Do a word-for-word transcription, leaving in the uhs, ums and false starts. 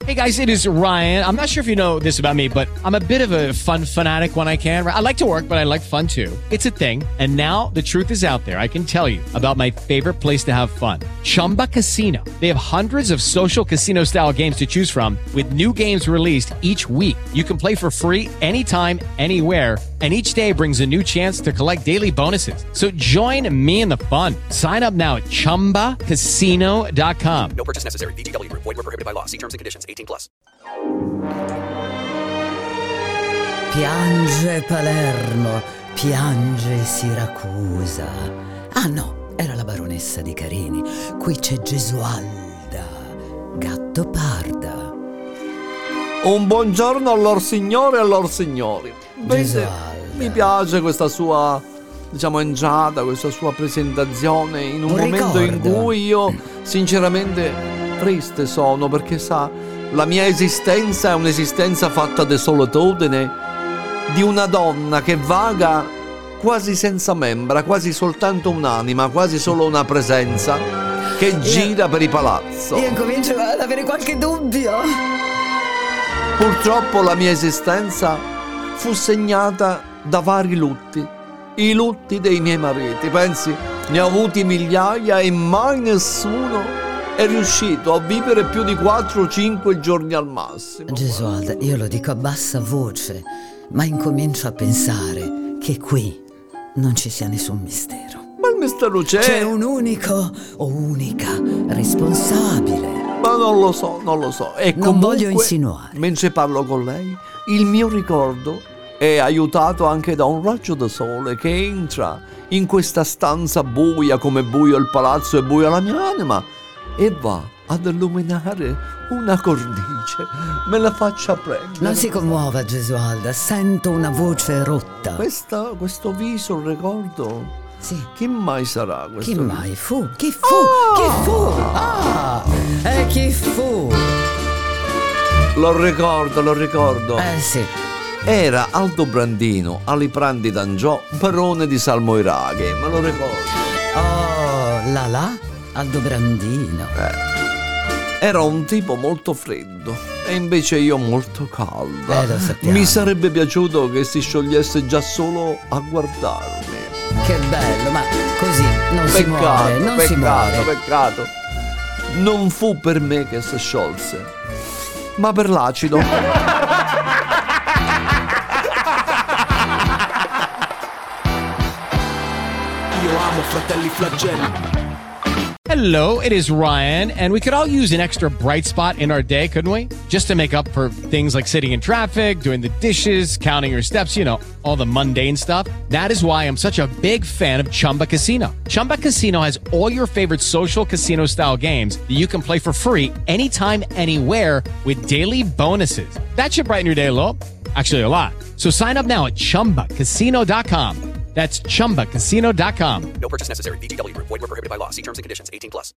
Hey guys, it is Ryan. I'm not sure if you know this about me, but I'm a bit of a fun fanatic when I can. I like to work, but I like fun too. It's a thing. And now the truth is out there. I can tell you about my favorite place to have fun. Chumba Casino. They have hundreds of social casino style games to choose from with new games released each week. You can play for free anytime, anywhere. And each day brings a new chance to collect daily bonuses. So join me in the fun. Sign up now at chumba casino dot com. No purchase necessary. V G W. Void where prohibited by law. See terms and conditions. eighteen plus. Piange Palermo, piange Siracusa. Ah no, era la baronessa di Carini. Qui c'è Gesualda, Gattoparda. Un buongiorno allor signore e allor signori. Gesualda. Mi piace questa sua, diciamo, entrata, questa sua presentazione in un, un momento ricordo. in cui io sinceramente triste sono, perché sa, la mia esistenza è un'esistenza fatta di solitudine, di una donna che vaga quasi senza membra, quasi soltanto un'anima, quasi solo una presenza che io, gira per i palazzi. Io comincio ad avere qualche dubbio. Purtroppo la mia esistenza fu segnata da vari lutti, i lutti dei miei mariti. Pensi, ne ho avuti migliaia e mai nessuno è riuscito a vivere più di quattro o cinque giorni al massimo. Gesualda, io lo dico a bassa voce, ma incomincio a pensare che qui non ci sia nessun mistero. Ma il mistero c'è. C'è un unico o unica responsabile. Ma non lo so, non lo so. E non comunque, voglio insinuare. Mentre parlo con lei, il mio ricordo è aiutato anche da un raggio di sole che entra in questa stanza buia, come buio il palazzo e buia la mia anima, e va ad illuminare una cornice. Me la faccia prendere. Non si commuova, Gesualda, sento una voce rotta. Questa, questo viso, il ricordo. Sì. Chi mai sarà questo? Chi mai fu? Chi fu? Oh! Chi fu? Ah! E chi fu? Lo ricordo, lo ricordo. Eh sì. Era Aldobrandino Aliprandi d'Angiò, barone di Salmoiraghe, me lo ricordo. Oh, là là, Aldobrandino. Eh. Era un tipo molto freddo e invece io molto calda. Eh, lo sappiamo. Mi sarebbe piaciuto che si sciogliesse già solo a guardarmi. Che bello, ma così non peccato, si muore, non peccato, si muore. Peccato, non fu per me che si sciolse, ma per l'acido. Io amo Fratelli Flagelli. Hello, it is Ryan, and we could all use an extra bright spot in our day, couldn't we? Just to make up for things like sitting in traffic, doing the dishes, counting your steps, you know, all the mundane stuff. That is why I'm such a big fan of Chumba Casino. Chumba Casino has all your favorite social casino-style games that you can play for free anytime, anywhere with daily bonuses. That should brighten your day a little. Actually, a lot. So sign up now at chumba casino dot com. That's chumba casino dot com. No purchase necessary. V G W. Void where prohibited by law. See terms and conditions. eighteen plus.